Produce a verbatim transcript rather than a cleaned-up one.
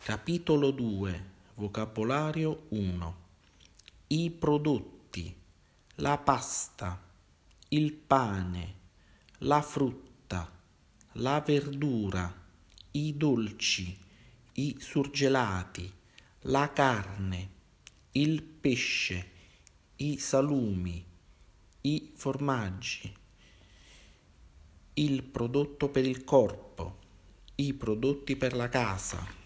Capitolo due. Vocabolario uno. I prodotti, la pasta, il pane, la frutta, la verdura, i dolci, i surgelati, la carne, il pesce, i salumi, i formaggi, il prodotto per il corpo, i prodotti per la casa,